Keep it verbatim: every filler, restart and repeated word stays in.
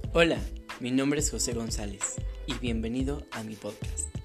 Hola, mi nombre es José González y bienvenido a mi podcast.